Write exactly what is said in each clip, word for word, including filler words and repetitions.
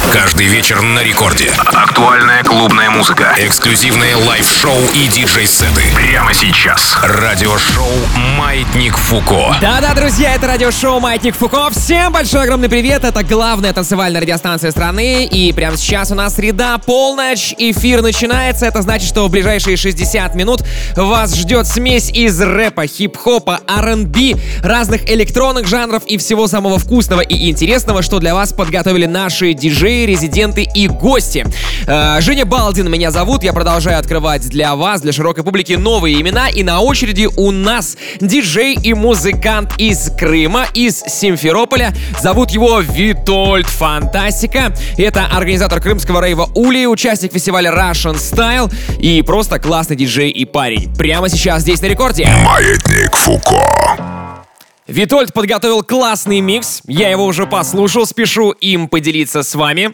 Каждый вечер на рекорде. Актуальная клубная музыка. Эксклюзивные лайв-шоу и диджей-сеты. Прямо сейчас. Радиошоу «Маятник Фуко». Да-да, друзья, это радиошоу «Маятник Фуко». Всем большой огромный привет. Это главная танцевальная радиостанция страны. И прямо сейчас у нас среда, полночь. Эфир начинается. Это значит, что в ближайшие шестьдесят минут вас ждет смесь из рэпа, хип-хопа, ар энд би, разных электронных жанров и всего самого вкусного и интересного, что для вас подготовили наши диджеи, резиденты и гости. Э, Женя Балдин меня зовут. Я продолжаю открывать для вас, для широкой публики, новые имена. И на очереди у нас диджей и музыкант из Крыма, из Симферополя. Зовут его Витольд Фантастика. Это организатор крымского рейва Ули, участник фестиваля Russian Style и просто классный диджей и парень. Прямо сейчас здесь на рекорде. Маятник Фуко. Витольд подготовил классный микс. Я его уже послушал, спешу им поделиться с вами.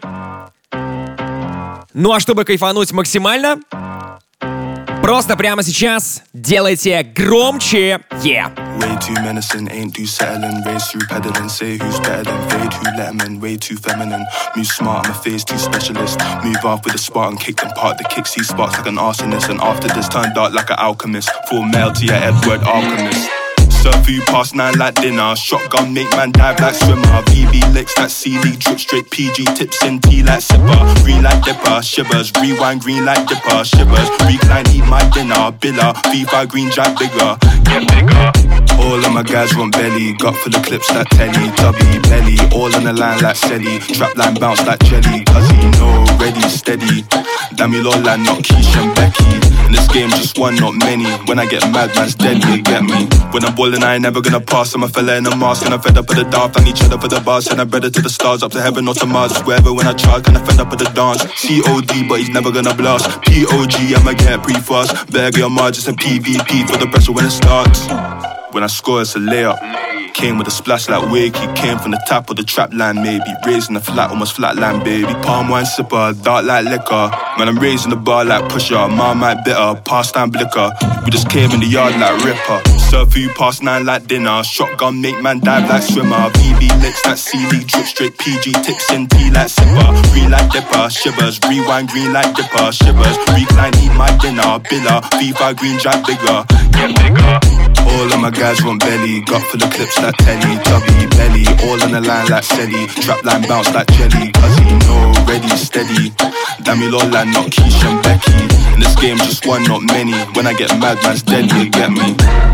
Ну а чтобы кайфануть максимально, просто прямо сейчас делайте громче. Yeah. Way too menacing, ain't too settling. Race through peddling, say who's better than fade. Who let 'em in, way too feminine. Move smart, I'm a phase two specialist. Move off with a Spartan, kick them part. The kick see sparks like an arsonist. And after this, turn dark like an alchemist. Full mail to your Edward Alchemist. Serve food past nine like dinner. Shotgun make man dive like swimmer. V B licks that C-League drip straight P G tips in tea like sipper. Green like dipper, shivers. Rewind green like dipper, shivers. Recline eat my dinner. Billa, V five green jack bigger. Get bigger. All of my guys want belly. Got for the clips like telly. Tubby, belly. All on the line like Selly. Trap line bounce like jelly. Cause he know, ready, steady. Damn you all like not Keisha and Becky. In this game just one, not many. When I get mad, man's dead, you get me. When I'm ballin', I ain't never gonna pass. I'm a fella in a mask and I'm fed up with the daft. I need cheddar for the bars, send a better to the stars. Up to heaven or to Mars, wherever when I charge. Kinda fed up with the dance. C O D, but he's never gonna blast. P O G, I'ma get pretty fast. Better get your margins and P V P for the pressure when it starts. When I score, it's a layup. Came with a splash like Wake. He came from the tap or the trap line, maybe. Raising the flat, almost flatline, baby. Palm wine sipper, dark like liquor. Man, I'm raising the bar like pusher. Mom might bitter, pastime blicker. We just came in the yard like Ripper. Serve food past nine like dinner. Shotgun make man dive like swimmer. V B licks that C-League drip straight P G tips in tea like sipper. Green like dipper, shivers. Rewind green like dipper, shivers. Recline eat my dinner. Billa, V five green jack bigger. Get bigger. All of my guys want belly. Got for the clips like telly. Tubby, belly. All on the line like Selly. Trap line bounce like jelly. Cause he know, ready, steady. Damn you all like not Keisha and Becky. In this game just one, not many. When I get mad, man's dead, you get me.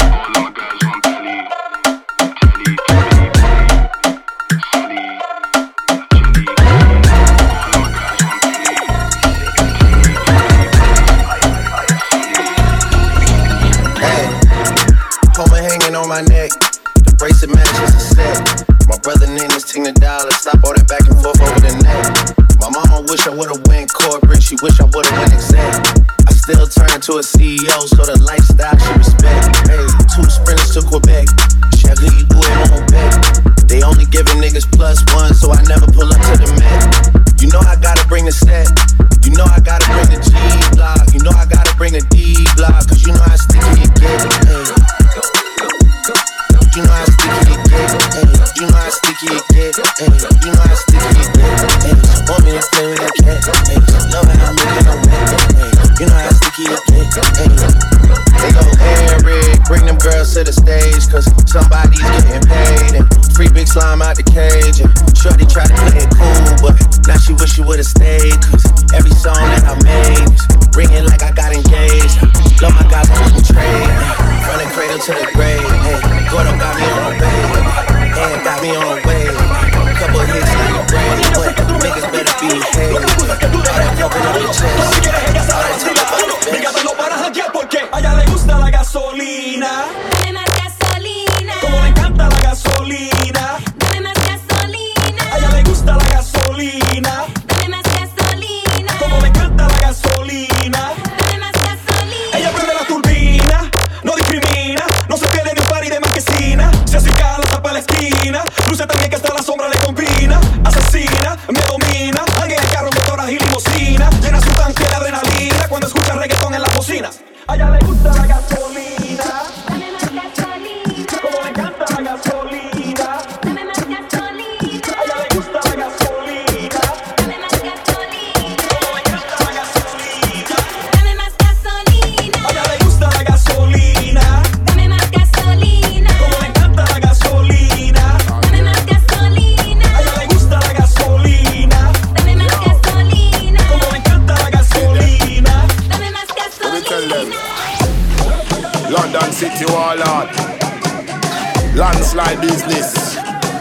On my neck, the bracelet matches a set. My brother named this Ting the dollar. Stop all that back and forth over the net. My mama wish I would've went corporate. She wish I would've went exec. I still turn to a C E O, so the lifestyle she respect. Hey, two sprinters to Quebec. Chevy, you do it on back. They only giving niggas plus one, so I never pull up to the mat. You know I gotta bring the set. You know I gotta bring the G block. You know I gotta bring the D block. Cause you know how sticky it get. Hey. You know how sticky it get, ayy. You know how sticky it get, ayy. You know how sticky it get, ayy. Want me to play with that cat, ayy. Love how I'm making a wet, ayy. You know how sticky it get, ayy. They go Eric, bring them girls to the stage, cause somebody's getting paid. And free big slime out the cage. And shorty try to play it cool, but now she wish she would've stayed. Cause every song that I made is ringing like I got engaged. Love my guys, I wouldn't trade. From the cradle to the grave, ayy. Gordo got me on a wave, and got me on a wave. Couple hits like a Brady, but niggas better behave. All that pumping on the chest, all that talk about the bitch. Dígamelo para janguear porque a ella le gusta la gasolina. Dame más gasolina. Como le encanta la gasolina. Dame más gasolina. A ella le gusta la gasolina. Dame más gasolina. Como le encanta la gasolina. Dame más gasolina. Ella prende la turbina, no discrimina, no se pierde ni un party de marquesina. Se acerca a la tapa a la esquina, luce también que hasta la sombra le combina. Asesina, me domina, alguien en carro, motoras y limosina. Llena su tanque business.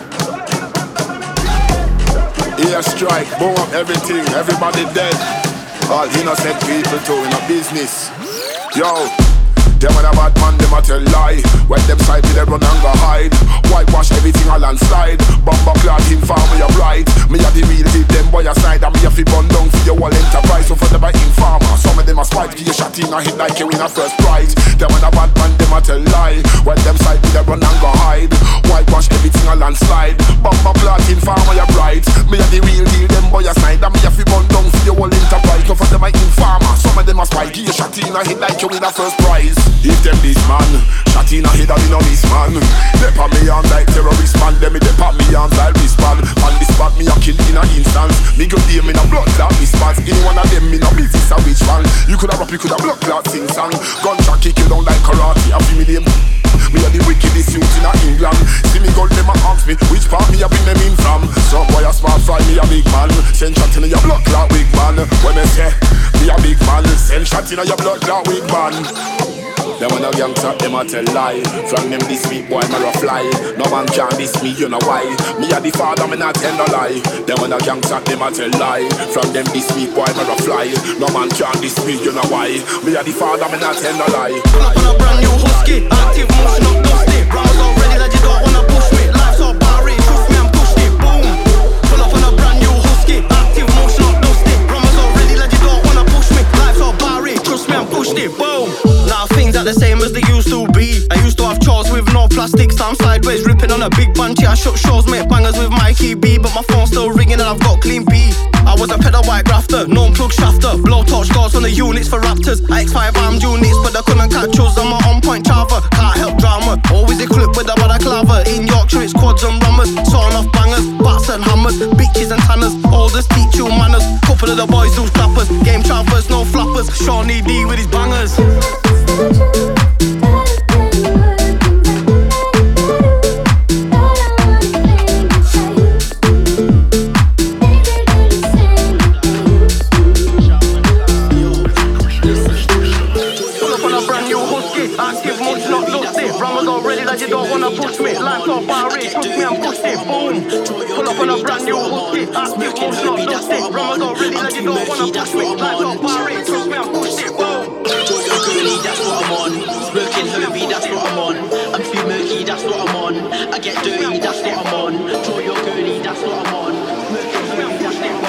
Air strike, boom up everything, everybody dead. All innocent people too in a business. Yo, them when a bad man, them a tell lie. When them side me, they run and go hide. Whitewash everything a landslide. Bumper clad him farm me a bright. Me a the real deal, them boy a side. And me a fi bun down for your whole enterprise. So for them a informer, some of them a spite. Give you shot in a hit like you win a first prize. Them when a bad man, them a tell lie. When them side me, they run and go hide. Whitewash everything a landslide. Bumper clad him farm me a bright. Me a the real deal, them boy a side. And me a fi bun down for your whole enterprise. So for them a informer, some of them a spite. Give you shot in a hit like you win a first prize. If them this man, shot in a head and in a miss man. They pat me on like terrorist man. Them me they pat me on like wristband. On the spot me a kill in a instance. Me go deal me no blood clot response. Any one of them me no business a which man. You coulda rap, you coulda blood clot sing song. Gunshot kick you down like karate. I feel me name. Me a the wickedest youth in a England. See me gold them a ask me which part me a bring them in from. Some boy a smart fry me a big man. Send shot in a your blood clot wig man. When me say me a big man, send shot in a your blood clot wig man. Them when a gangsta, them a tell lie. From them this week, boy, me a fly. No man can diss me, you know why. Me a the father, me not tell no lie. Them when a gangsta, them a tell lie. From them this week, boy, me a fly. No man can diss me, you know why. Me a the father, me not tell no lie. Pull up on a brand new husky, active motion up dusty. Rounds already that you don't wanna push me. Life's all barry, trust me, I'm pushed it, boom. Pull up on a brand new husky, active motion up dusty. Rounds already that you don't wanna push me. Life's all barry, trust me, I'm pushed it, boom. Now things are the same as they used to be. I used to have chores with no plastics. I'm sideways ripping on a big bunchy. I shut shows, make bangers with Mikey B. But my phone's still ringing and I've got clean B. I was a pedal white grafter, known plug shafter. Blow torch guards on the units for Raptors. I X five armed units, but they couldn't catch us. I'm a on point chava, can't help drama. Always equipped with a balaclava. In Yorkshire it's quads and rummers. Sawing off bangers, bats and hammers. Bitches and tanners, oldest teach you manners. Couple of the boys do clappers. Game trappers, no flappers. Shawnee D with his bangers. Active much not lusty. Rammers already that you don't wanna push me. Life's all barry, trust me, I'm pushed it, boom. Pull up on a brand new husky. Active much not lusty. Rammers already that you don't wanna push me. Life's all barry, trust me, I'm pushed it, boom. Jojo girly, that's what I'm on. Smoking heavy, that's what I'm on. I'm too murky, that's what I'm on. I get dirty, that's what I'm on. Jojo girly, that's what I'm on. Smoking heavy, that's what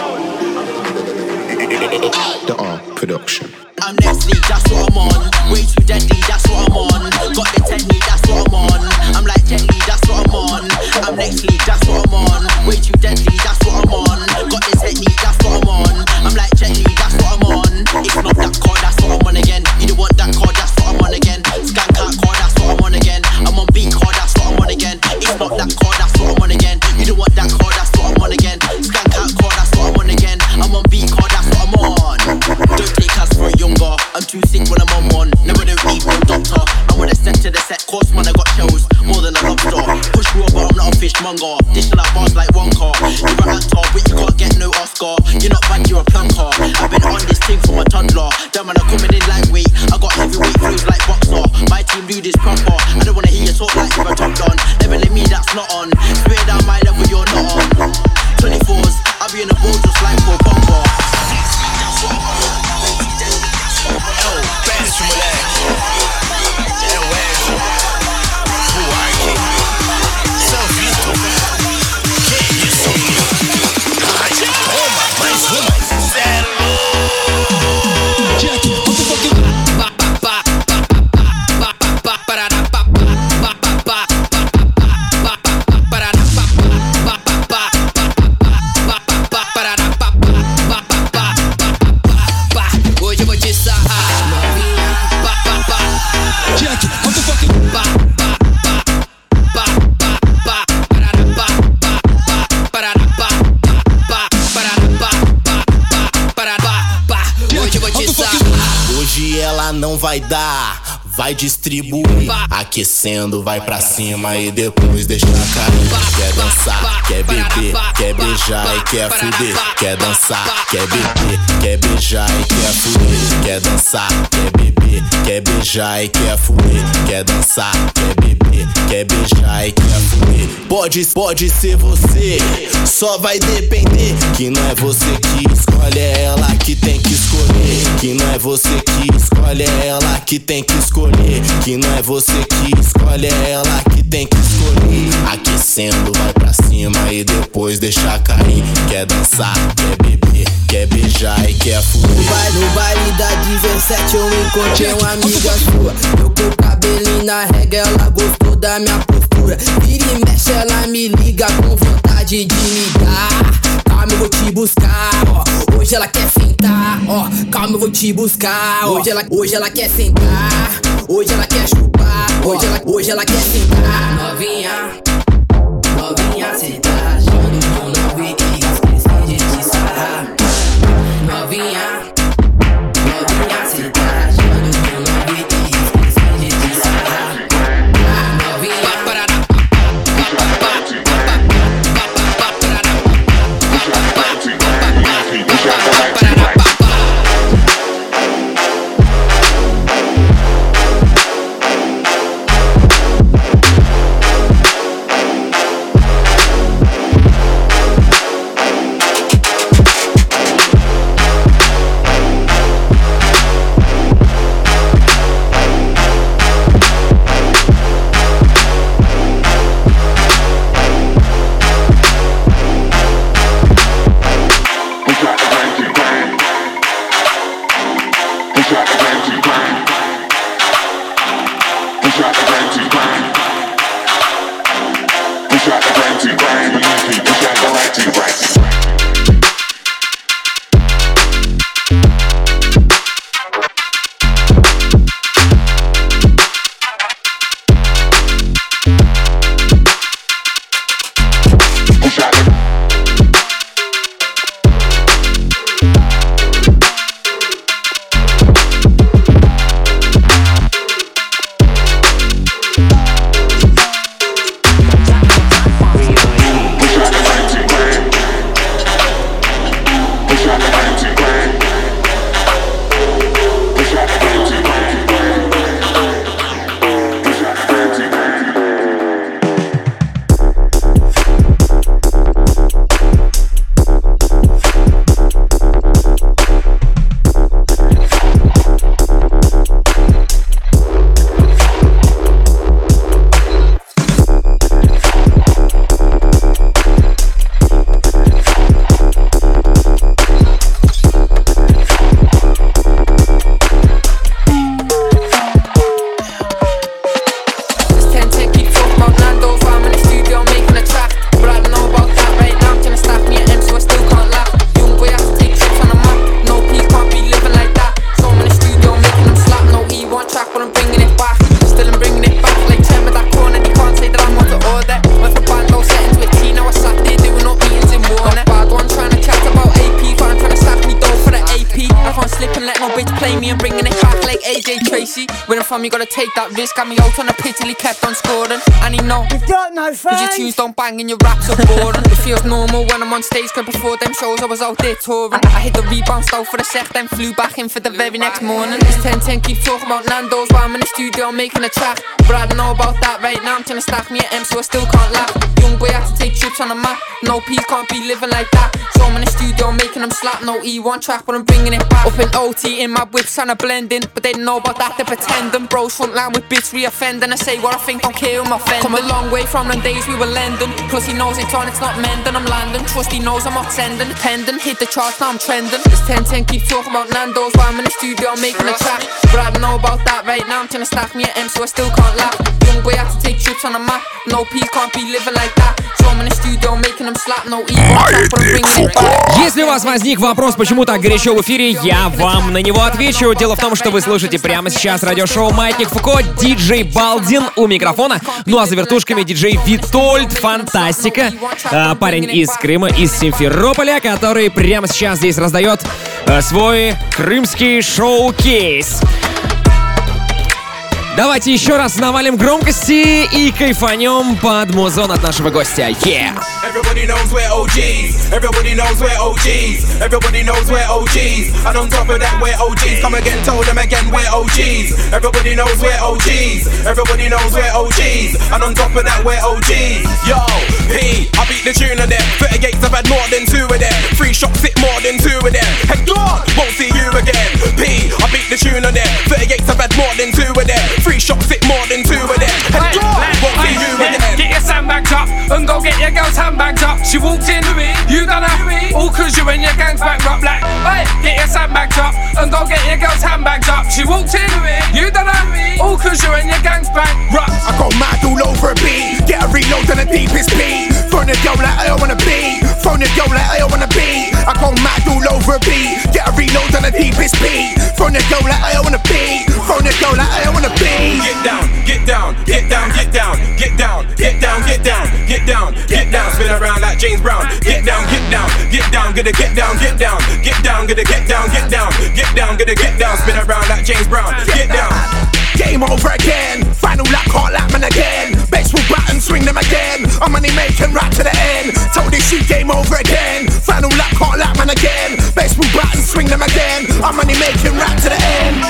I'm on. The Ark Production. I'm next league, that's what I'm on. Way too deadly, that's what I'm on. Got the technique, that's what I'm on. I'm like Jet Li, that's what I'm on. I'm next league, that's what I'm on. Way too deadly, that's what I'm on. Got the technique, that's what I'm on. I'm like Jet Li, that's what I'm on. It's not that car, that's what I'm on again. You don't want that car, that's what I'm on again. Skank out car, that's what I'm on again. I'm on beat car, that's what I'm on again. It's not that car, that's what I'm on again. You don't want that car, that's what I'm on again. Skank out car, that's what I'm on again. I'm on beat car, that's what I'm on. Don't take us for a younger. I'm too sick when I'm on one. Never do eat no doctor. I wanna set to the set course, man. I got shells more than a lobster. Push me over, I'm not a fishmonger. Dishing out bars like one car. You're an actor, but you can't get no Oscar. You're not bad, you're a plunker. I've been on this thing for my toddler. Damn man, I'm coming in lightweight. I got heavyweight flows like boxer. My team do this proper. I don't wanna hear you talk like you're a top don. Never let me, that's not on. Spray down my level, you're not on. twenty-fours, I'll be in the ball just like for a bumper. Péssimo, moleque. É o Edson, o Ark, São Vitor. Que isso, menino? Ai, toma, mais uma. Zero. Jack, what the fuck is... Hoje eu vou te sarrar. Jack, what the fuck is... Hoje eu vou te sarrar. Hoje ela não vai dar. vai distribuir. Aquecendo, vai pra cima e depois deixa cair. Quer dançar, quer beber, quer beijar e quer fuder. Quer dançar, quer beber, quer beijar e quer fuder. Quer dançar, quer beber, quer beijar e quer fuder. Quer dançar, quer beber, quer beijar e quer fuder. Pode, pode ser você, só vai depender. Que não é você que escolhe, é ela que tem que escolher. Que não é você que escolhe, é ela que tem que escolher. Que não é você que escolhe, é ela que tem que escolher. Aquecendo, vai pra cima e depois deixa cair. Quer dançar, quer beber, quer beijar e quer fuder. No baile da dezessete eu encontrei uma amiga sua. Eu com o cabelinho na régua, ela gostou da minha postura. Vira e mexe, ela me liga com vontade de me dar. Calma, eu vou te buscar, ó. Hoje ela quer sentar, ó. Calma, eu vou te buscar, ó. Hoje ela, hoje ela quer sentar. Hoje ela quer chupar. Hoje ela, hoje ela quer sentar. Novinha, novinha, cê tá achando que eu não vi que esqueci de te sarrar. Novinha, novinha, cê tá achando que eu não vi que esqueci de te sarrar. Novinha, parará. You gotta take that risk, got me out on a pitch till he kept on scoring. And he know, you've got no face, cause your tunes don't bang and your raps are boring. It feels normal when I'm on stage, cause before them shows I was out there touring. I hit the rebound style for a sec, then flew back in for the very next morning. It's ten ten, keep talking about Nando's while I'm in the studio making a track. But I don't know about that right now, I'm trying to stack me at M so I still can't laugh. Young boy had to take trips on the map, no peas, can't be living like that. So I'm in the studio making them slap, no E one track but I'm bringing it back. Up in O T in my whips trying to blend in, but they didn't know about that, they're pretending. Bros front line with bits re-offending, I say what I think, don't care who I'm offending. Come a long way from them days we were lending, plus he knows it's on, it's not mending. I'm landing, trust he knows I'm not sending. Pending, hit the charts, now I'm trending. It's ten ten, keep talking about Nando's while I'm in the studio making a track. But I don't know about that right now, I'm trying to stack me at M so I still can't laugh. Young boy had to take trips on the map, no peas, can't be living like that. So I'm in the studio making them slap, no E one track but I'm bringing it back. Если у вас возник вопрос, почему так горячо в эфире, я вам на него отвечу. Дело в том, что вы слушаете прямо сейчас радиошоу «Маятник Фуко», диджей Балдин у микрофона. Ну а за вертушками диджей Витольд, фантастика. А, парень из Крыма, из Симферополя, который прямо сейчас здесь раздает а, свой крымский шоу-кейс. Давайте еще раз навалим громкости и кайфанем под музон от нашего гостя. Yeah! Everybody knows we're O Gs. Everybody knows we're O Gs. Everybody knows we're O Gs. And on top of that, we're O Gs. Come again, tell them again, we're O Gs. Everybody knows we're O Gs. Everybody knows we're O Gs. And on top of that, we're O Gs. Yo, P, I beat the tune of them. thirty-eights, I've had more than two of them. Three shots, hit more than two of them. Head gone, won't see you again. P, I beat the tune of them. thirty-eights, I've had more than two of them. Three shots, hit more than two of them. Head gone, won't see you again. Get your sandbags up and go get your girl's handbags up. She walked in, you done her, all cause you and your gang's back up like, hey, get your sandbags up and go get your girl's handbags up. She walked in, you done her, all cause you and your gang's back up. I go mad all over a beat, get a reload on the deepest beat. Phone the girl like I don't wanna be, phone the girl like I don't wanna be. I go mad all over a beat, get a reload on the deepest beat. Phone the girl like I don't wanna be, phone the girl like I don't wanna be. Get down, get down, get down, get down, get down, get down, get down, get down, get down, spin around like James Brown. Get down, get down, get down, gonna get down, get down, get down, gonna get down, get down, get down, gonna get down, spin around like James Brown. Get down. Game over again, final lap, can't lap man again. Baseball bat and swing them again. I'm money making right to the end. Told this shit game over again. Final lap, can't lap man again. Baseball bat and swing them again. I'm money making right to the end.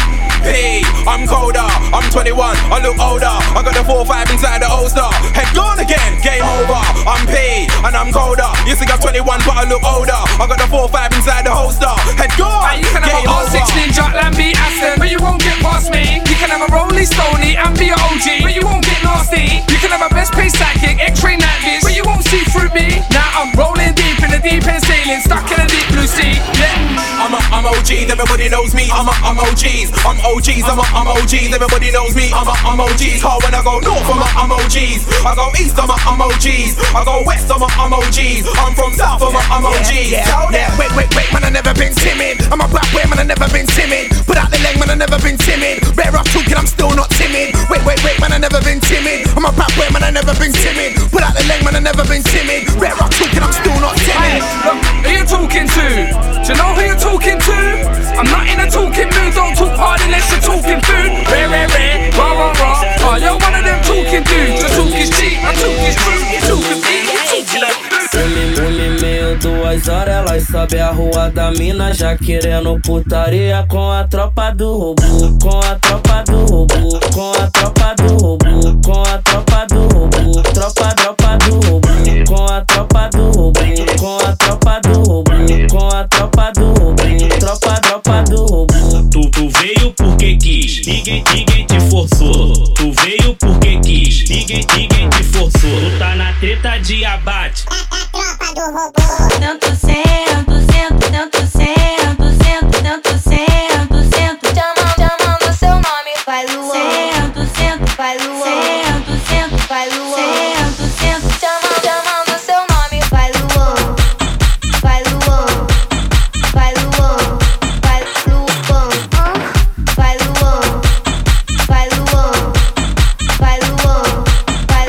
Hey, I'm colder, I'm twenty-one, I look older. I got the four five inside the holster. Head gone again, game over. I'm P and I'm colder. You think I'm twenty-one but I look older. I got the four five inside the holster. Head gone, hey, you can game have a R six over. Ninja and be Aston, but you won't get past me. You can have a Rolling Stoney and be a O G, but you won't get nasty. You can have a best pace psychic, X-ray night viz, but you won't see through me. Now I'm rolling deep in the deep end sailing, stuck in a deep blue sea. Yeah. I'm a, I'm O Gs, everybody knows me. I'm a, I'm O Gs, I'm O Gs, I'm a, I'm O Gs, everybody knows me. I'm a, I'm O Gs. Hard when I go north, I'm a, I'm O Gs. I go east, I'm a, I'm O Gs. I go west, I'm a, I'm O Gs. I'm from south, I'm a, I'm O Gs. Yeah, yeah, yeah. Wait, wait, wait, man, I never been timid. I'm a black boy, man, I never been timid. Put out the leg, man, I never been timid. Rare off talking, I'm still not timid. Wait, wait, wait, man, I never been timid. I'm a black boy, man, I never been timid. Put out the leg, man, I never been timid. Rare off talking, I'm still not timid. Hey, look, who you talking to? Do you know who you're talking to? I'm not in a talking mood, don't talk hard unless you're talking food. Rare, rare, rare, rah, rah, rah. Oh, you're one of them talking dudes. Your talk is cheap, my talk is true. You talking deep, you talking like Um e meio, duas horas, elas sobe a rua da mina já querendo putaria com a tropa do robô, com a tropa do robô, com a tropa do robô, com a tropa do robô, tropa, tropa do robô, com a tropa do robô, com a tropa do robô, com a tropa do robô, tropa, tropa do robô. Tu, tu veio porque quis, ninguém, ninguém te forçou. Tu veio porque quis, ninguém, ninguém te forçou. Tu tá na treta de abate. Tanto sento, sento, tanto sento, sento, tanto sento, sento. Chamando, chamando seu nome, vai Luan. Sento, sento, vai Luan. Sento, sento, vai Luan. Sento, sento, chamando, chamando seu nome, vai Luan. Vai Luan, vai Luan, vai Luan, vai Luan, vai Luan, vai Luan, vai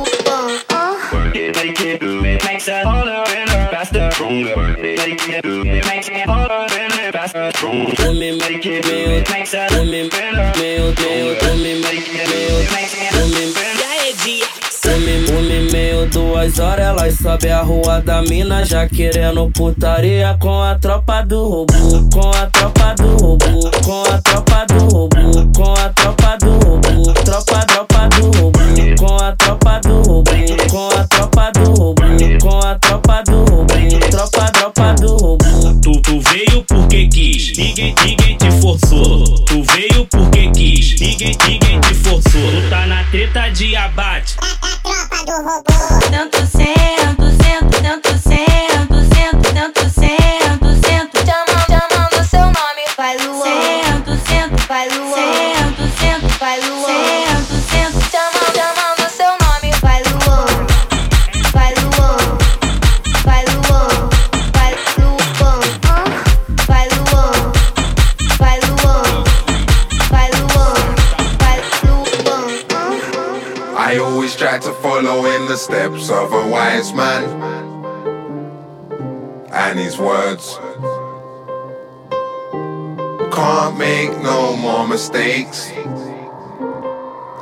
Luan. Make it do it, makes that harder and faster, stronger. Make it do it, makes it harder and faster, stronger. Um e Make it do it, makes that um e meio, meio, um e Make it do it, makes it um e um e meio, duas horas, elas sobe a rua da mina já querendo putaria com a tropa do robô, com a tropa do robô, com a tropa do robô, com a tropa do robô, tropa, tropa do robô, com a tropa do robô, com a tropa do robô, com a tropa do robô, tropa, tropa do robô. Tu, tu veio porque quis, ninguém, ninguém te forçou. Tu veio porque quis, ninguém, ninguém te forçou. Tu tá na treta de abate. Tanto sento, sento, tanto sento, sento, tanto sento, sento. Chamando, chamando seu nome, vai Luan. Sento, sento, vai Luan. Sento, sento, vai Luan. Sento, sento, chamando, chamando seu nome, vai Luan. Vai Luan, vai Luan, vai Luan, vai Luan, vai Luan, vai Luan, vai Luan. I always try to follow in the steps of a wise man and his words. Can't make no more mistakes.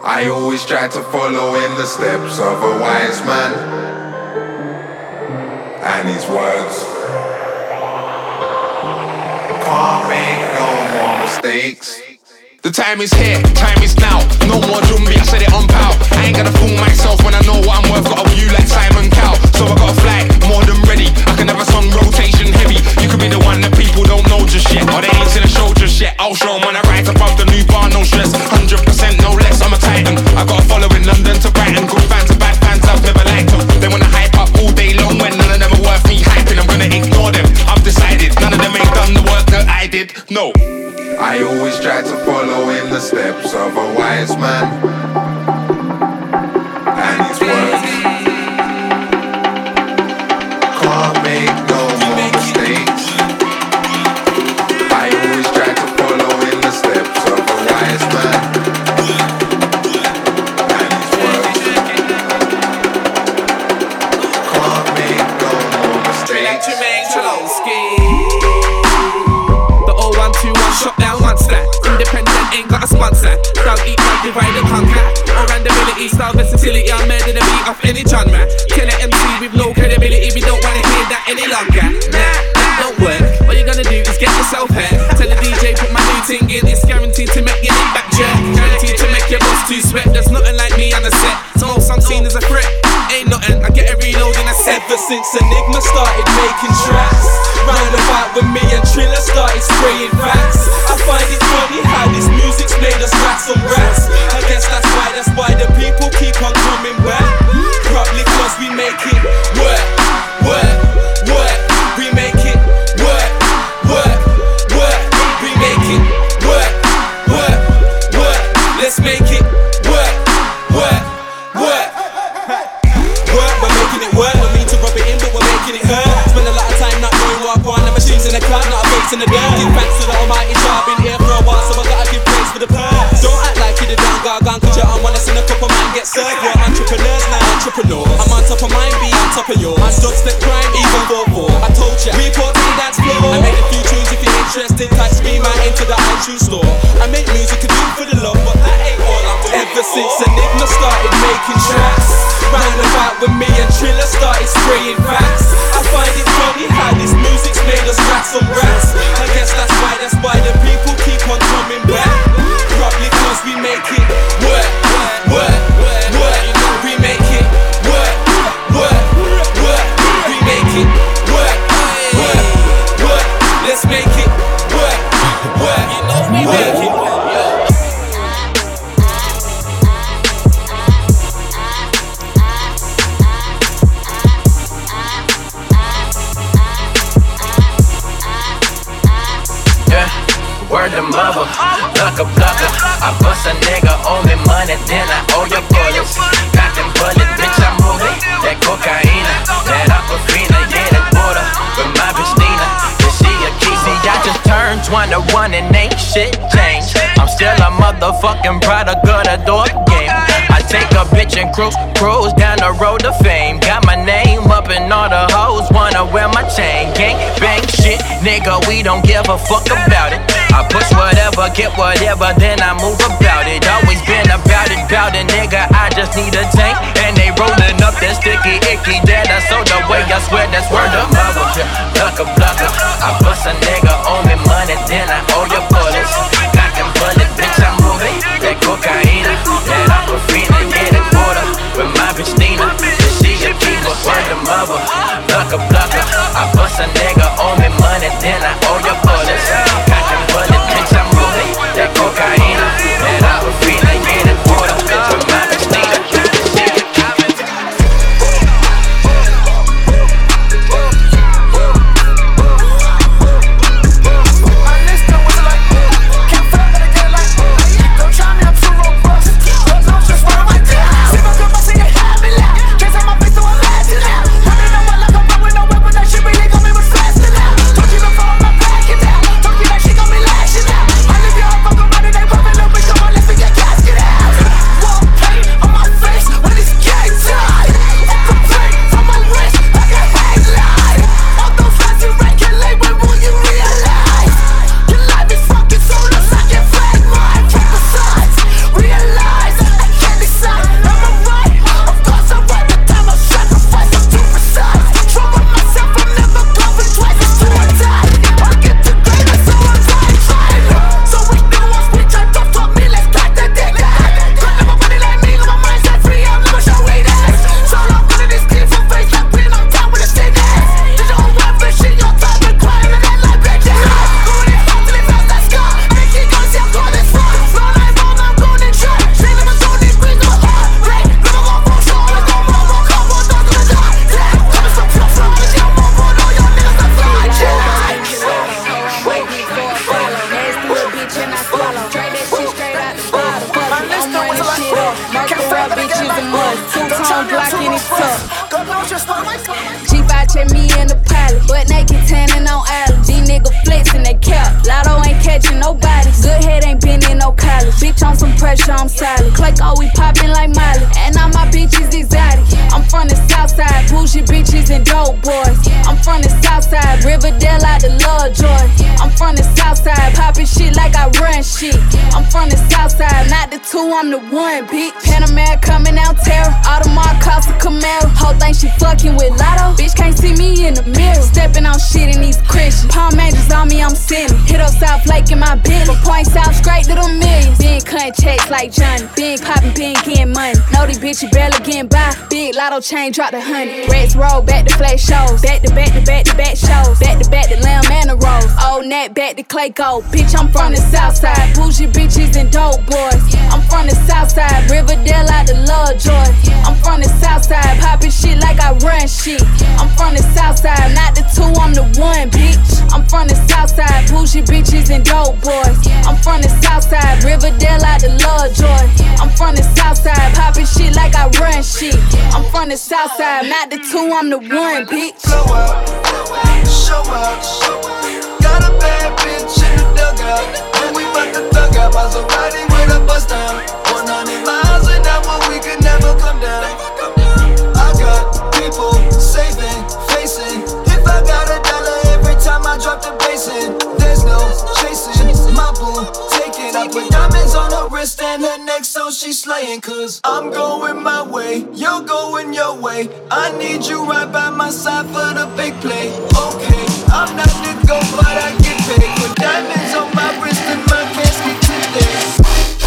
I always try to follow in the steps of a wise man and his words. Can't make no more mistakes. The time is here, time is now. No more Jumbi, I said it on pow. I ain't gonna fool myself when I know what I'm worth. Got a view like Simon Cowell, so I gotta fly more than ready. I can have a song rotation heavy. You could be the one that people don't know just yet, or they ain't seen a show just yet. I'll show 'em when I rise above the new bar, no stress. one hundred percent no less, I'm a titan. I got a following London to Brighton. Good fans and bad fans, I've never liked them. They wanna hype up all day long when none of them are worth me hyping. I'm gonna ignore them, I've decided. None of them ain't done the work that I did, no. I always try to follow in the steps of a wise man and his words. Can't make no more mistakes. I always try to follow in the steps of a wise man and his words. Can't make no more mistakes. Shot down one stack. Independent ain't got a sponsor. Don't eat, don't divide and conquer. Or randomability, style versatility. I'm murder the beat off any genre. Killer M C with no credibility. We don't wanna hear that any longer. Nah, that don't work. All you gonna do is get yourself hurt. Tell the D J put my new thing in. It's guaranteed to make your neck back jerk. Guaranteed to make your boss too sweat. There's nothing like me on the set. So most I'm seen as a threat. Ain't nothing. I get a reload in a set. Ever since Enigma started making tracks, round about when me and Triller started spraying facts. I find it funny how this music's made us rats on rats. I guess that's why, that's why the people keep on coming back. Probably cause we make it work, work, work. We make it work, work, work. We make it work, work, work. Let's make it work, work, work. Work, we're making it work. We mean to rub it in, but we're making it hurt. Spend a lot of time not knowing what I want. The machines in the cloud, not a face in the dirt. Give thanks to the Almighty job, been here for a while, so I gotta give praise for the past. Don't act like you're the down gargan, cause you're on one that's in a couple man get served. We're entrepreneurs now, entrepreneurs. I'm on top of mine, be on top of yours. My dubstep crime, even four four. I told ya, report to the dance floor. I made a few tunes if you're interested. Type Scream out into the iTunes store. I make music to do for the love, but that ain't all I'm doing. Ever since Enigma started making tracks, round about when me and Triller started spraying facts. I find it funny how this music's made us rats on rats. I guess that's why, that's why the people keep on coming back. Probably cause we make it work, work, work. We make it work, work, work. We make it work, work, work. Let's make it work, work. You know we make it work. Word to mother, plucker, plucker. I bust a nigga, owe me money, then I owe your bullets. Got them bullets, bitch, I'm moving. That cocaine, that aquafina, yeah, that water. With my bitch Nina, is she a key? See, I just turned twenty-one and ain't shit changed. I'm still a motherfucking product of the door game. I take a bitch and cruise, cruise down the road to fame. Got my name up and all the hoes wanna wear my chain. Gang bang shit, nigga, we don't give a fuck about it. I push whatever, get whatever, then I move about it. Always been about it, about it, nigga, I just need a tank. And they rolling up that sticky, icky, that I sold away, I swear that's word of mother. Plucker, plucker, I bust a nigga, owe me money, then I owe your bullets. Got them bullets, bitch, I'm moving. That cocaine, that aquafina, yeah, that water. With my bitch Nina, she a keeper, word of mother. Plucker, plucker, I bust a nigga, owe me money, then I owe your bullets. Got them bullets, bitch, I'm moving. That cocaine, that aquafina, yeah, that water. With my bitch Nina, she a keeper. shit. I'm from the south side, not the two, I'm the one, bitch. Panamera coming out terror, Audemars cost a Camaro. Whole thing she fucking with Lotto, bitch can't see me in the mirror. Stepping on shit in these Christians, Palm Angels on me, I'm sinning. Hit up South Lake in my bin, from points out straight to the millions. Been cutting checks like Johnny, been popping, been getting money. Know these bitches barely getting by, big Lotto chain drop the honey. Reds roll back to flash shows, back to back to back to back shows, back to back to lamb and the rose. Old Nat back to Clay Gold, bitch I'm from the south side, bougie bitches and dope boys. I'm from the south side, Riverdale out the Lovejoy. I'm from the south side, popping shit like I run shit. I'm from the south side, not the two, I'm the one, bitch. I'm from the south side, bougie bitches and dope boys. I'm from the south side, Riverdale out the Lovejoy. I'm from the south side, popping shit like I run shit. I'm from the south side, not the two, I'm the one, bitch. Blow up, show up, got a bad bitch in the dugout, and we bout to thug out Maserati with a bust down. one hundred miles an hour, we could never come down. I got people saving, facing. If I got a dollar every time I drop the bass in, there's no chasing my boo. Take it, I put diamonds on her wrist and her neck, so she's slaying. Cause I'm going my way, you're going your way. I need you right by my side for the big play. Okay, I'm not the go, but I get paid. Put diamonds on my wrist and my casket today.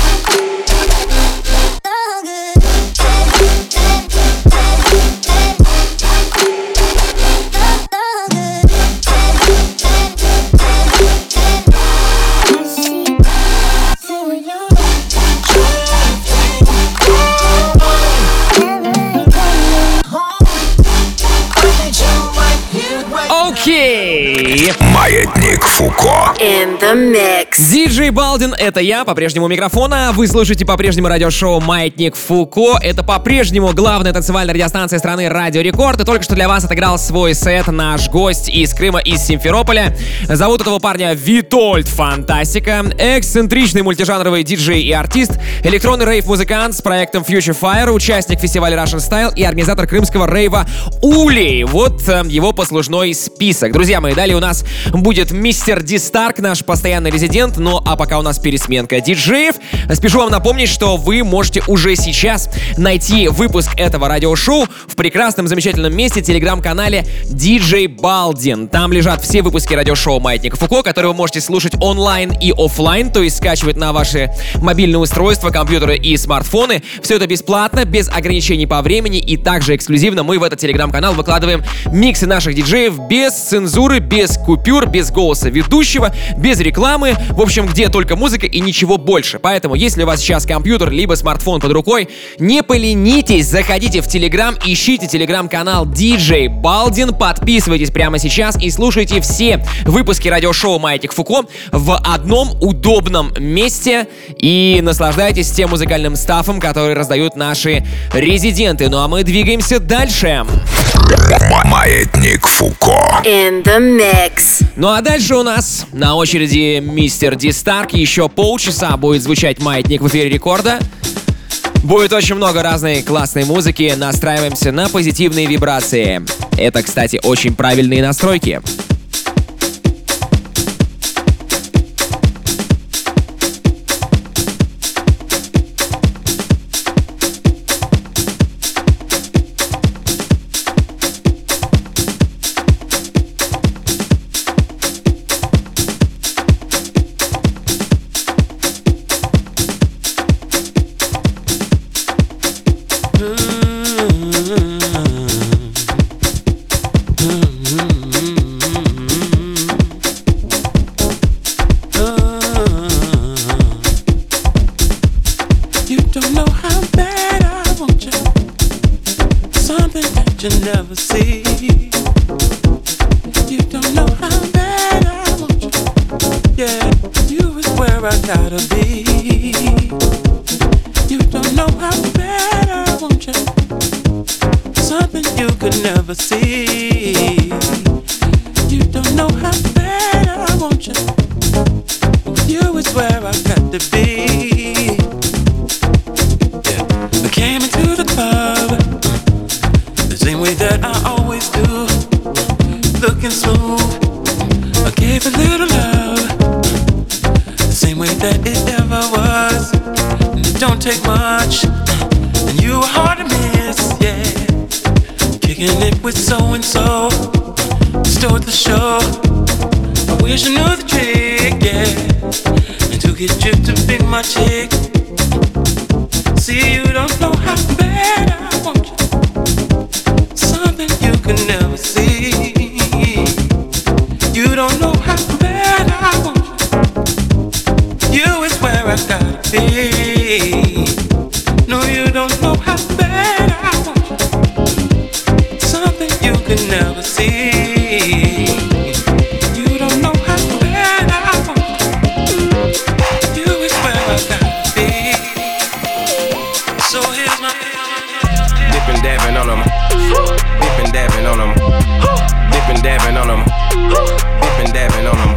Окей. Маятник Фуко. In the mix. Диджей Балдин, это я, по-прежнему у микрофона. Вы слушаете по-прежнему радиошоу «Маятник Фуко». Это по-прежнему главная танцевальная радиостанция страны «Радио Рекорд». И только что для вас отыграл свой сет наш гость из Крыма, из Симферополя. Зовут этого парня Витольд Фантастика. Эксцентричный мультижанровый диджей и артист, электронный рейв-музыкант с проектом Future Fire, участник фестиваля Russian Style и организатор крымского рейва Улей. Вот э, его послужной список. Друзья мои, далее у нас будет мистер Ди Старк, наш постоянный резидент. Ну а пока у нас пересменка диджеев, спешу вам напомнить, что вы можете уже сейчас найти выпуск этого радиошоу в прекрасном, замечательном месте, телеграм-канале Диджей Балдин. Там лежат все выпуски радиошоу «Маятник Фуко», которые вы можете слушать онлайн и офлайн, то есть скачивать на ваши мобильные устройства, компьютеры и смартфоны. Все это бесплатно, без ограничений по времени, и также эксклюзивно мы в этот телеграм-канал выкладываем миксы наших диджеев без цензуры, без купюр, без голоса ведущего, без рекламы, в общем, где только музыка и ничего больше. Поэтому, если у вас сейчас компьютер либо смартфон под рукой, не поленитесь, заходите в Телеграм, ищите телеграм-канал Диджей Балдин, подписывайтесь прямо сейчас и слушайте все выпуски радиошоу «Маятник Фуко» в одном удобном месте и наслаждайтесь тем музыкальным стафом, который раздают наши резиденты. Ну а мы двигаемся дальше. Маятник Фуко. In the mix. Ну а дальше у нас на очереди мистер Ди Старк. Еще полчаса будет звучать «Маятник» в эфире Рекорда. Будет очень много разной классной музыки. Настраиваемся на позитивные вибрации. Это, кстати, очень правильные настройки. That it take much, and you are hard to miss, yeah. Kicking it with so and so, stole the show. I wish I knew the trick, yeah, and to get you to be my chick. See, you don't know how bad I want you, something you can never see. You don't know how bad I want you, you is where I gotta be. No, you don't know how bad I want you, something you can never see. You don't know how bad I want you, you is where I gotta be. So here's my dippin' dabbing on them, dippin' dabbing on them, dippin' dabbing on them, dippin' dabbing on them.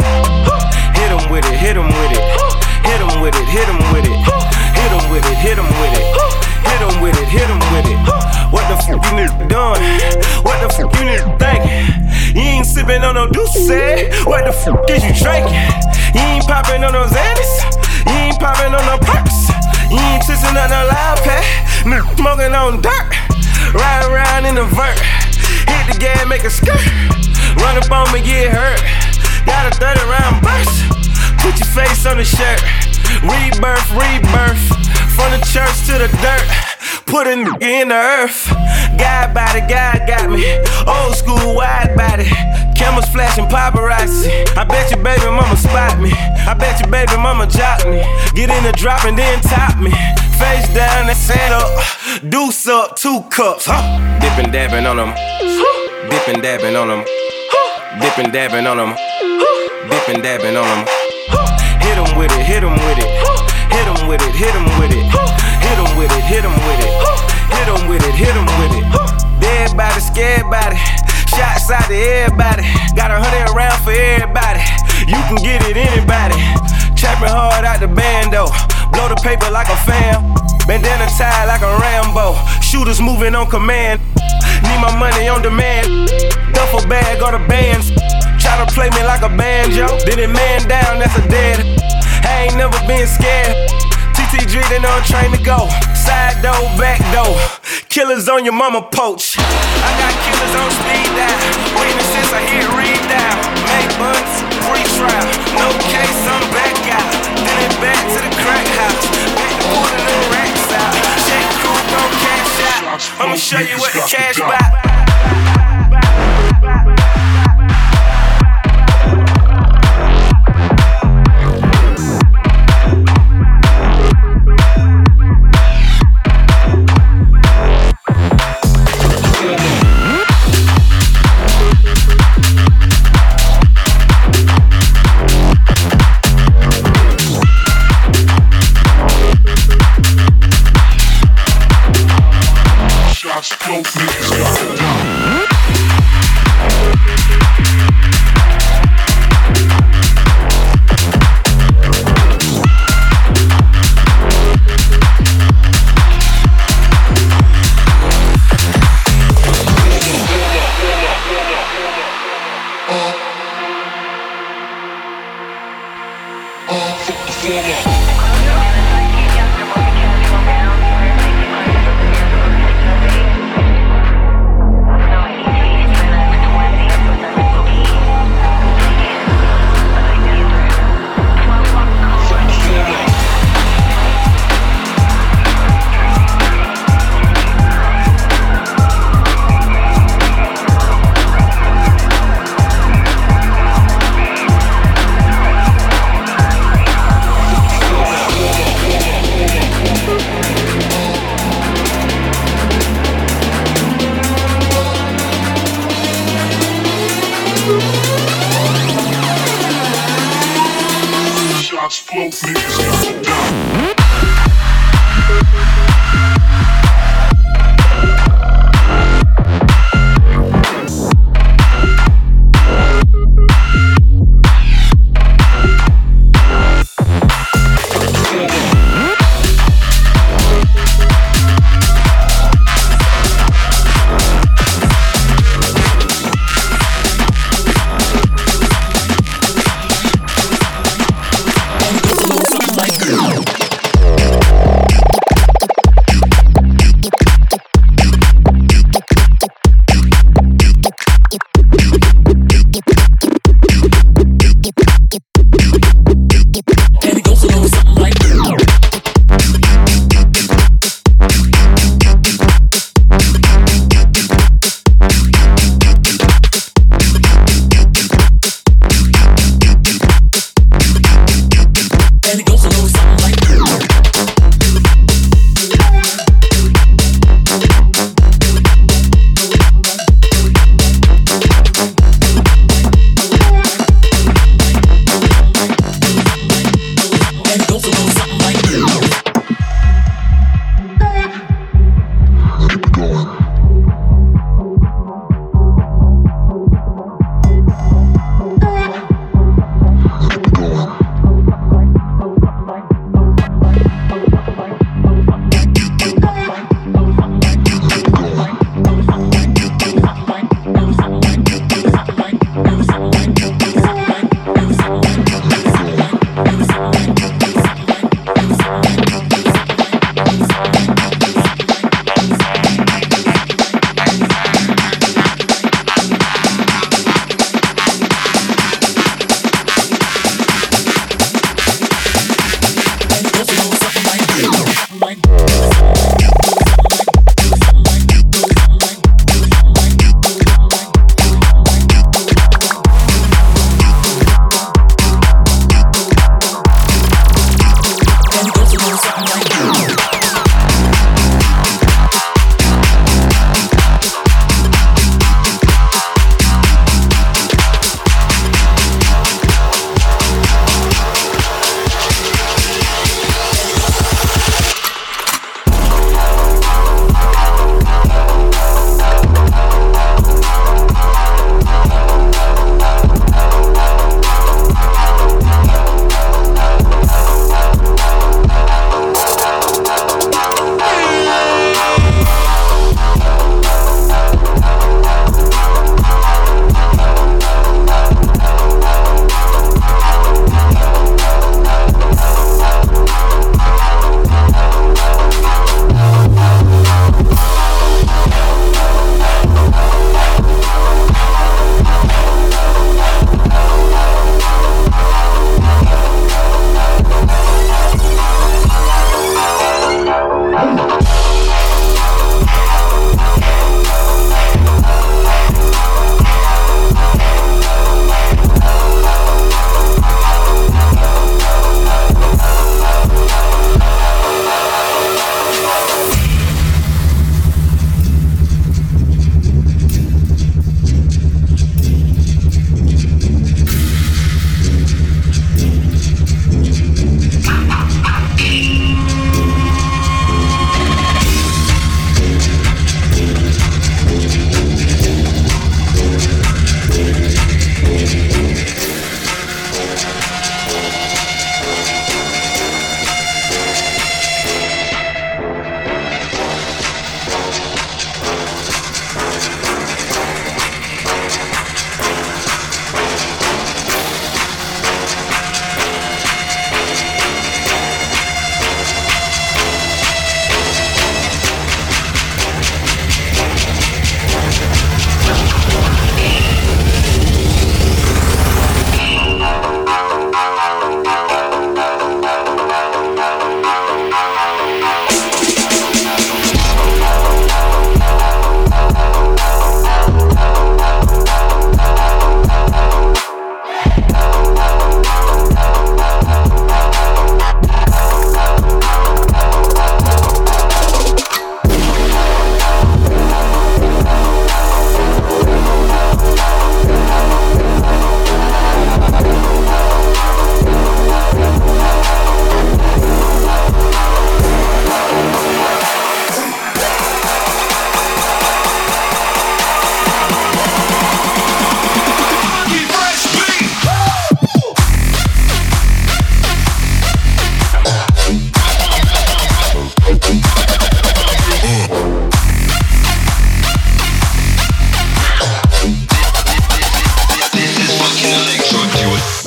Hit 'em with it, hit 'em with it, hit 'em with it, hit 'em with it, hit 'em with it, hit 'em with it, hit 'em with it, hit 'em with it. What the fuck you niggas doing? What the fuck you niggas thinking? You ain't sippin' on no Douce. What the fuck is you drinking? You ain't poppin' on those Andes. You ain't poppin' on no perks. You ain't twisting on no loud pack. Nigga smoking on dirt. Ride around in the vert. Hit the gas, make a skirt. Run up on me, get hurt. Got a thirty round burst. Put your face on the shirt. Rebirth, rebirth. From the church to the dirt. Put a nigga in the earth. God body, God got me. Old school, wide body. Cameras flashing paparazzi. I bet your baby mama spot me. I bet your baby mama jock me. Get in the drop and then top me. Face down and stand up. Deuce up, two cups, huh? Dippin' dabbing on them. Dippin' dabbing on them. Dippin' dabbing on them. Dippin' dabbing on them. Hit 'em with it, hit 'em with it. Hit 'em with it, hit 'em with it. Hit 'em with it, hit 'em with it. Hit 'em with it, hit 'em with it. Dead body, scared body. Shots out to everybody. Got a hundred around for everybody. You can get it, anybody. Trapping hard out the bando. Blow the paper like a fan. Bandana tied like a Rambo. Shooters moving on command. Need my money on demand. Duffel bag or the bands. Try to play me like a banjo. Then it man down, that's a dead. I ain't never been scared. T T Driven on train to go. Side door, back door. Killers on your mama poach. I got killers on speed dial. Witnesses, I hear read down. Make buns, free trial. No case, I'm back out. Then it back to the crack house. Back to pulling the racks out. Shake crew, gon' cash out. I'ma show you what the cash buy.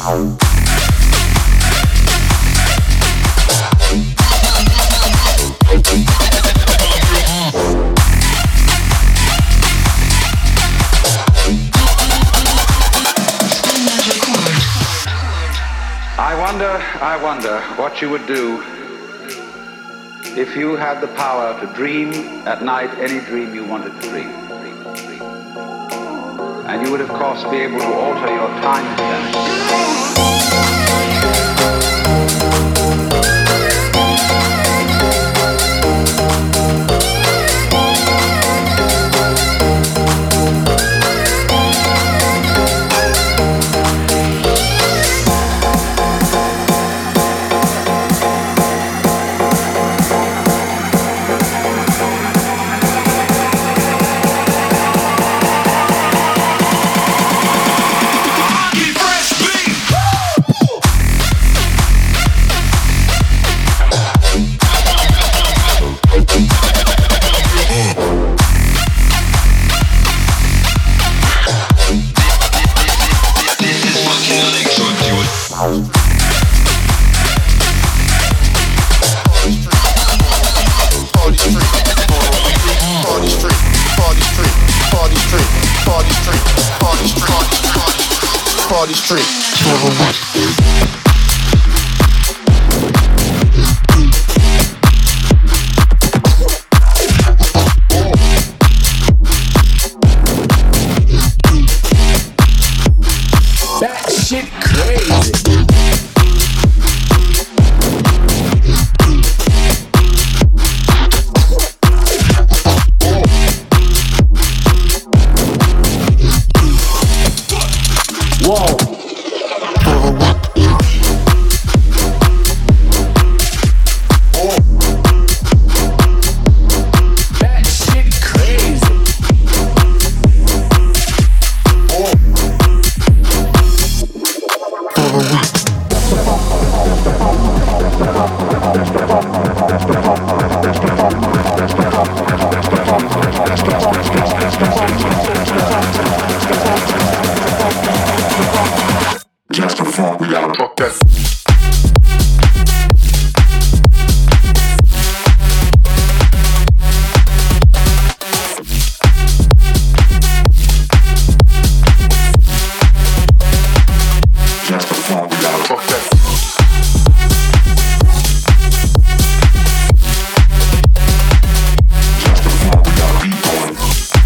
I wonder, I wonder what you would do if you had the power to dream at night any dream you wanted to dream. And you would, of course, be able to alter your time stamp. Party Street. That shit crazy. Whoa. That shit crazy. Just a funk, we gotta fuck that. Just a funk, we gotta fuck that. Just a funk, we gotta beat on.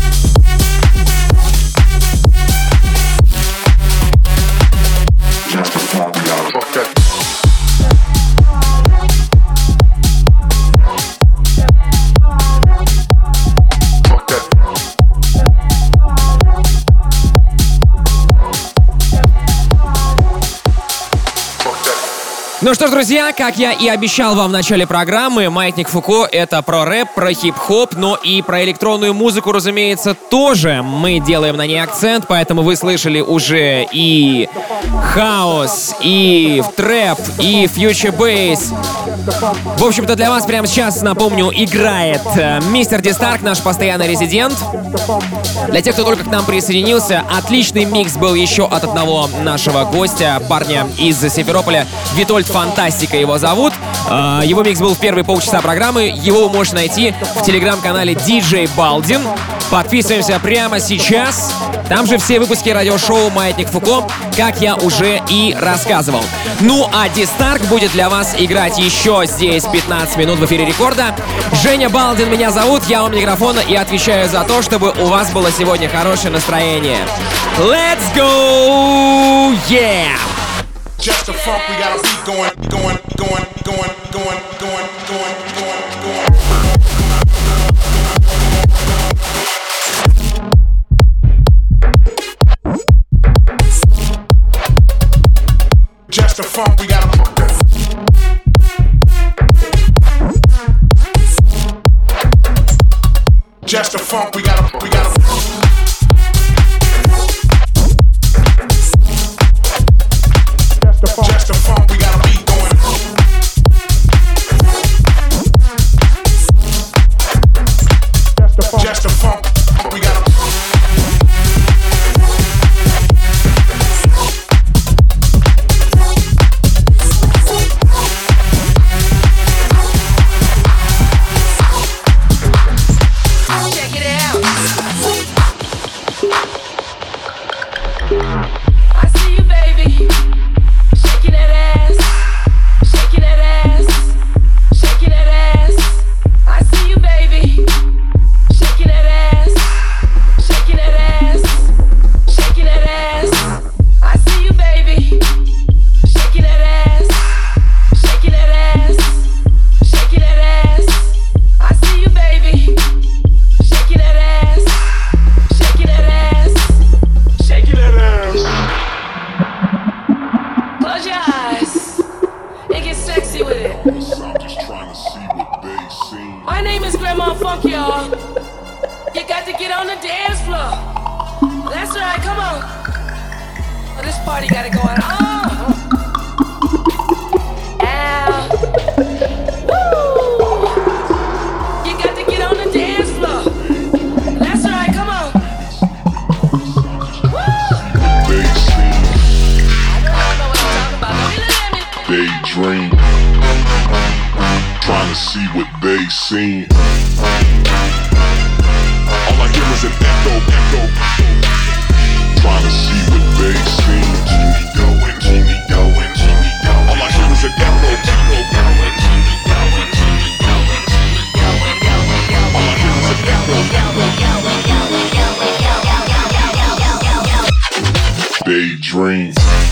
Just a funk, we gotta fuck that. Fuck that. Ну что ж, друзья, как я и обещал вам в начале программы, Маятник Фуко — это про рэп, про хип-хоп, но и про электронную музыку, разумеется, тоже мы делаем на ней акцент, поэтому вы слышали уже и хаус, и трэп, и фьючер бейс. В общем-то, для вас прямо сейчас, напомню, играет э, мистер Дистарк, наш постоянный резидент. Для тех, кто только к нам присоединился, отличный микс был еще от одного нашего гостя, парня из Симферополя, Витольд Фантастика его зовут. Э, его микс был в первые полчаса программы, его вы можете найти в телеграм-канале ди джей Балдин. Подписываемся прямо сейчас. Там же все выпуски радиошоу «Маятник Фуко», как я уже и рассказывал. Ну а Дистарк будет для вас играть еще здесь пятнадцать минут в эфире Рекорда. Женя Балдин меня зовут, я у микрофона и отвечаю за то, чтобы у вас было сегодня хорошее настроение. Let's go! Yeah! Just a funk, we gotta beat going, going, going, going, going, going, going, going, going. Just a funk, we gotta fuck that. Just a funk, we gotta, we gotta. Just a funk, we gotta beat going. Just a funk, we gotta. Close your eyes and get sexy with it. My name is Grandma Funk, y'all. You got to get on the dance floor. That's right, come on. Oh, this party gotta go on. Oh. Ow. Woo. You got to get on the dance floor. That's right, come on. Woo. I don't know what I'm talking about. Don't you let me. Daydream, trying to see what they seen. All I hear is an echo, echo. Trying to see what they seen. Keep me going, keep me going, keep me going. All I hear is an echo, echo. All I hear is an echo. Daydream.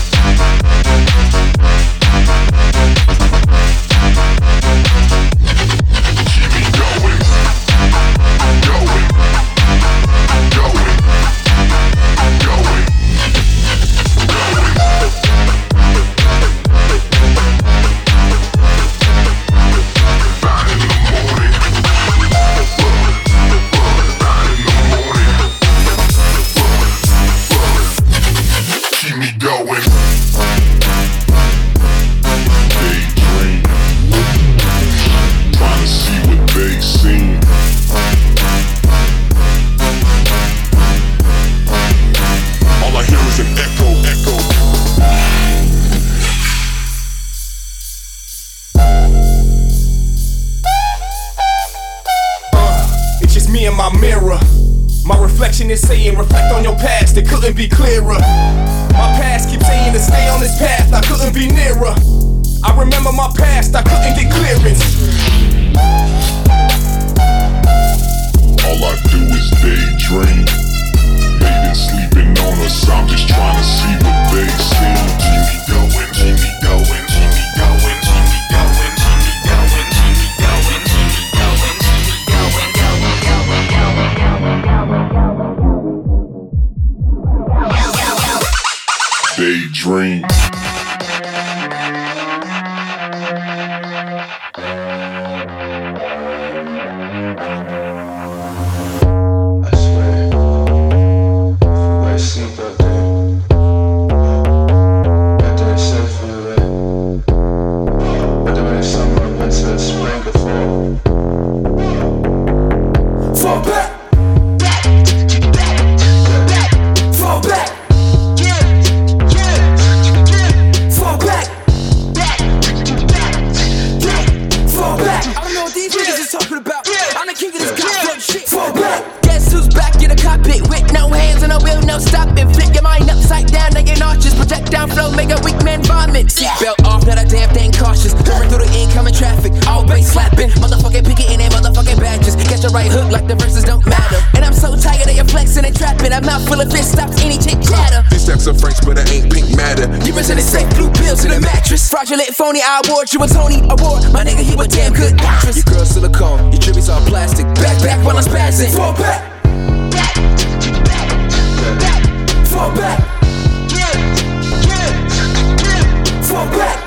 Is saying reflect on your past, it couldn't be clearer. My past keeps saying to stay on this path, I couldn't be nearer. I remember my past, I couldn't get clearance. All I do is daydream. They've been sleeping on us, I'm just trying to see what they see. Keep me going, keep me going, keep me going, keep me going, keep me going, keep me going, keep me going, keep me going, going, going, going, going, going. Daydream. Phony, I award you a Tony Award. My nigga, you a damn good actress. Your girl silicone, your tributes all plastic. Back, back while I'm spazzing. Fall back. Fall back. Fall back.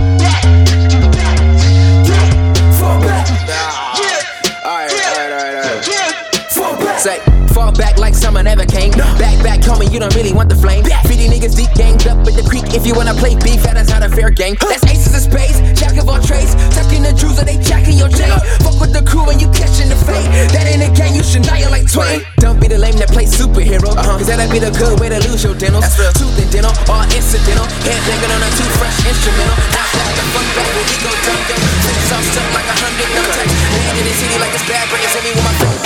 Fall back. Alright, alright, alright, alright. Fall back. Say, fall back like summer never came. Back, back, homie, you don't really want the flame. fifty niggas deep ganged up with the creek. If you wanna play beef, that is not a fair game. That's aces of spades, jack of all trades. Tucking the jewels or they jacking your chain. Fuck with the crew when you catching the fade. That ain't a game, you should die like Twain. Don't be the lame that plays superhero. Uh-huh. Cause that'd be the good way to lose your dentals. Tooth and dental, all incidental. Head banging on a toothbrush instrumental. Now back the fuck back when we go dumb yo. Flips off stuff like a hundred no touch. Land in the city like it's bad brains. Hit me with my face.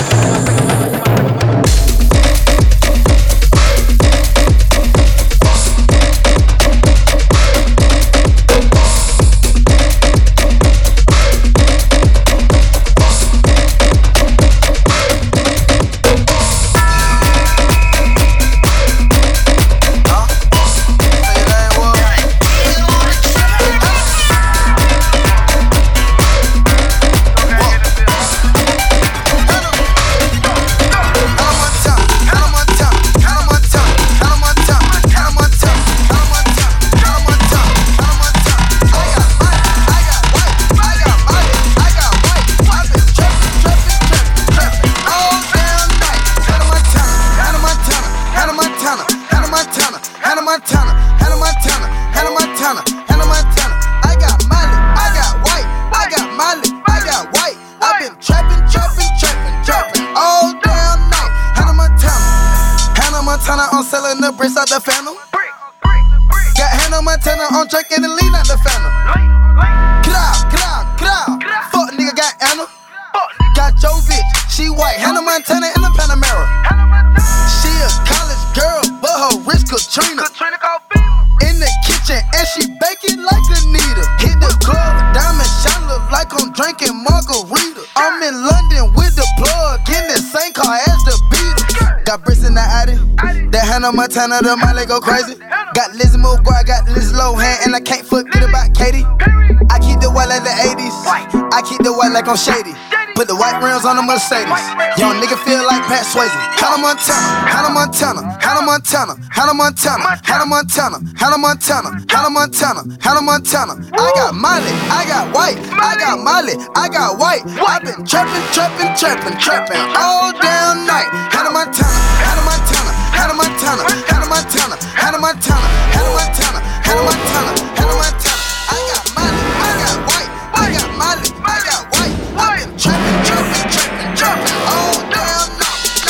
Hannah Montana, I'm drinking the lean out the Fanta. Get out, get out, get out. Fuck nigga got Anna. Got your bitch, she white. Hannah Montana in the Panamera. She a college girl, but her wrist Katrina. In the kitchen and she baking like Anita. Hit the club, diamond shine look like I'm drinking margarita. I'm in London with the plug, in the same car as the Beatles. Got bricks in the Addy, that Hannah Montana, the Miley go crazy. Got Lizzie McGuire, got Liz Lohan, and I can't forget about Katie. I keep the white like the eighties, I keep the white like I'm shady. Put the white rims on the Mercedes. Young nigga feel like Pat Swayze. Hannah Montana, Hannah Montana, Hannah Montana, Hannah Montana, Hannah Montana, Hannah Montana, Hannah Montana, Hannah Montana. I got Miley, I got white, I got Miley, I got white. I been trapping, trapping, trapping, trapping all damn night. Hannah Montana, Hannah Montana, Hannah Montana, Hannah Montana, Hannah Montana, Hannah Montana, Hannah Montana, Hannah Montana. I got Miley, I got white, I got Miley, I got white. I been trapping, trapping, trapping, trapping all damn night.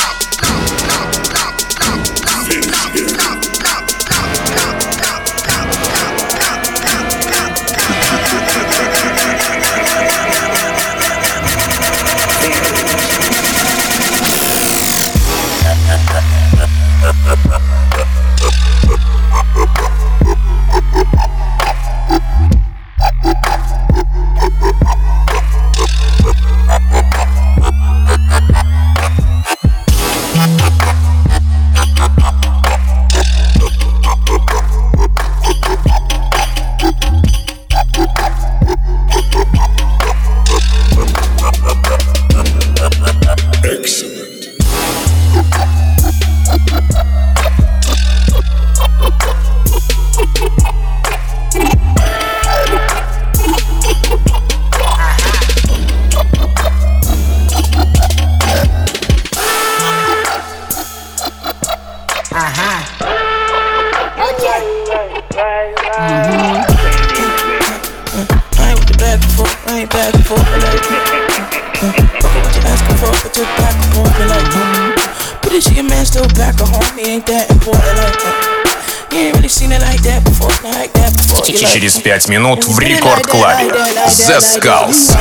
Через пять минут в рекорд-клабе The Skulls.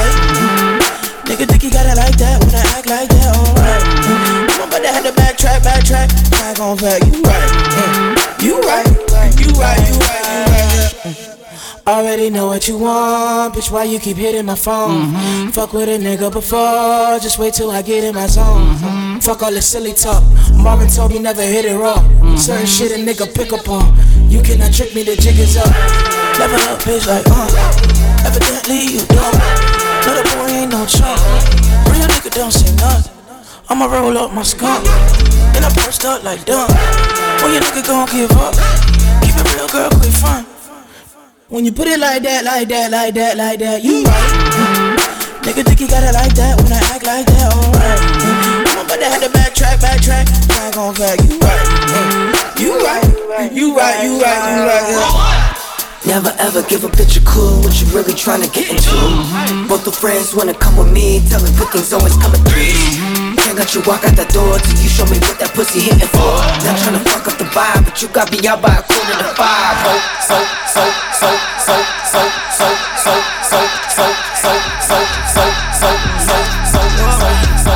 Nigga think you got it like that when I act like that, alright. I'm about to have to backtrack, backtrack. I gon' back, you right. You right, you right, you right, you right. Already know what you want, bitch, why you keep hitting my phone? Mm-hmm. Fuck with a nigga before, just wait till I get in my zone. Mm-hmm. Fuck all this silly talk, Marvin told me never hit it raw. Mm-hmm. Certain shit a nigga pick up on, you cannot trick me, the jig is up. Level up, bitch, like, uh, evidently you don't. No, the boy ain't no chump. Real nigga don't say nothing. I'ma roll up my skunk, then I burst up like dumb. When your nigga gon' give up, keep it real, girl, quick fun. When you put it like that, like that, like that, like that, you right. Mm-hmm. Nigga think you got it like that when I act like that, alright. Mm-hmm. I'm about to have to backtrack, backtrack. I gon' back, you right. Mm-hmm. You right, you right, you right, you right. Yeah. Never ever give a bitch a clue what you really tryna get into. Mm-hmm. Both the friends wanna come with me, tell me good things always coming through. Mm-hmm. Can't let you walk out that door till you show me what that pussy hitting for. Not tryna fuck up the vibe, but you got me out by a quarter to five. Oh, so, so, so, so, so, so, so, so, so, so, so, so, so, so, so, so,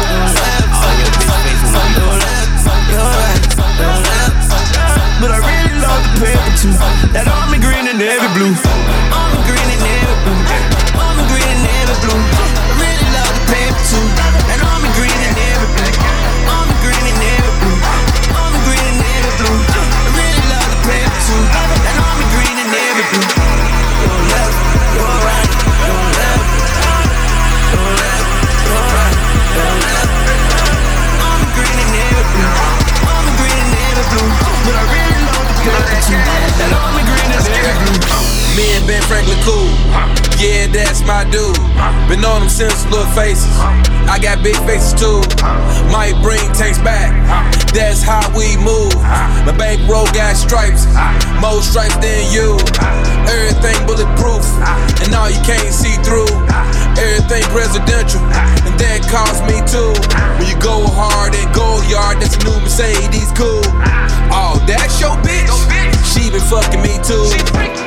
but I really love the paper too. That army green and navy blue. Army green and navy blue. Army green and navy blue. I really love the paper too. That army green and navy blue. Army green and navy blue. Army green and navy blue. I really love the paper too. That army green and navy blue. Your left, your right, your left, your left, your right, your left. Army green and navy blue. Army green and navy blue. But I really love the paper too. That army green and navy blue. Me and Ben Franklin cool. Yeah, that's my dude. Been on them since little faces. I got big faces too. Might bring tanks back. That's how we move. My bankroll got stripes. More stripes than you. Everything bulletproof. And all you can't see through. Everything presidential. And that cost me too. When you go hard and go yard, that's a new Mercedes cool. Oh, that's your bitch? She been fucking me too.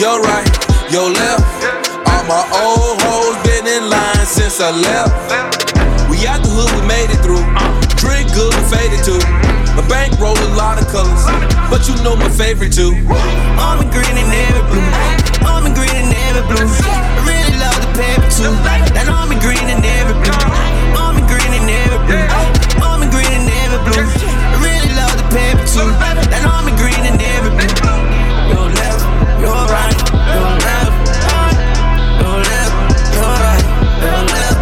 your right, your left. All my old hoes been in line since I left. We out the hood, we made it through. Drink good, we faded too. My bank roll a lot of colors, but you know my favorite too. Army green and navy blue. Army green and navy blue. I really love the paper too. That army green and navy blue. Army green and navy blue. Army green and navy blue. I really love the paper too. That army green and navy blue. Your left, your right, your left, your left, your right, your left.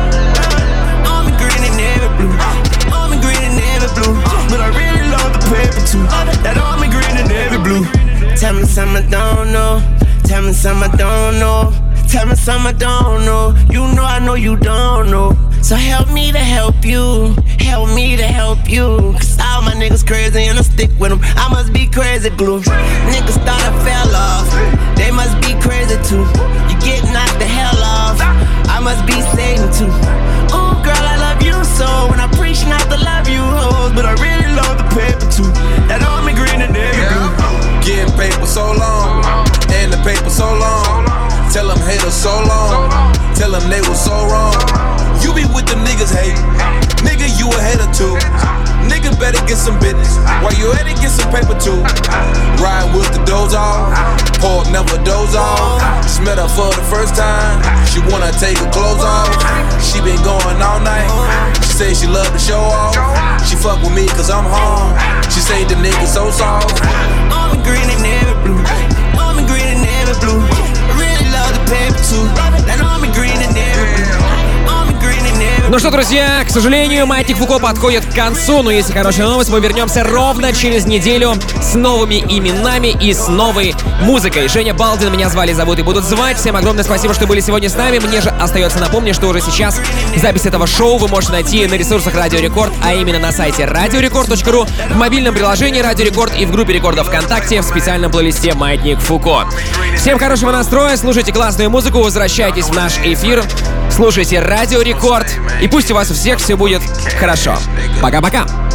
Army green and navy blue. Army green and navy blue. But I really love the paper too. That army green and navy blue. Tell me something I don't know. Tell me something I don't know. Tell me something I don't know. You know I know you don't know. So help me to help you. Help me to help you. Cause all my niggas crazy and I stick with them. I must be crazy glue. Niggas thought I fell off. They must be crazy too. You get knocked the hell off. I must be Satan too. Ooh girl I love you so. When I preach not to love you hoes. But I really love the paper too. That army green and navy blue. Getting paper so long, and the paper so long. Tell them haters so long, tell them they was so wrong. You be with them niggas hate, nigga you a hater too. Nigga better get some business, while you at it get some paper too. Ride with the doze off, pork never doze off. Smell her for the first time, she wanna take her clothes off. She been going all night, she say she love to show off. She fuck with me cause I'm home, she say the nigga so soft. Army green and navy blue, army green and navy blue. I really love the paper too, that army green and navy blue. Army green and navy blue. Ну что, друзья, к сожалению, Маятник Фуко подходит к концу, но есть хорошая новость, мы вернемся ровно через неделю с новыми именами и с новой музыкой. Женя Балдин, меня звали, зовут и будут звать. Всем огромное спасибо, что были сегодня с нами. Мне же остается напомнить, что уже сейчас запись этого шоу вы можете найти на ресурсах Радио Рекорд, а именно на сайте радиорекорд точка ру, в мобильном приложении Радио Рекорд и в группе Рекорда ВКонтакте в специальном плейлисте Маятник Фуко. Всем хорошего настроя, слушайте классную музыку, возвращайтесь в наш эфир, слушайте Радио Рекорд, и пусть у вас у всех все будет хорошо. Пока-пока!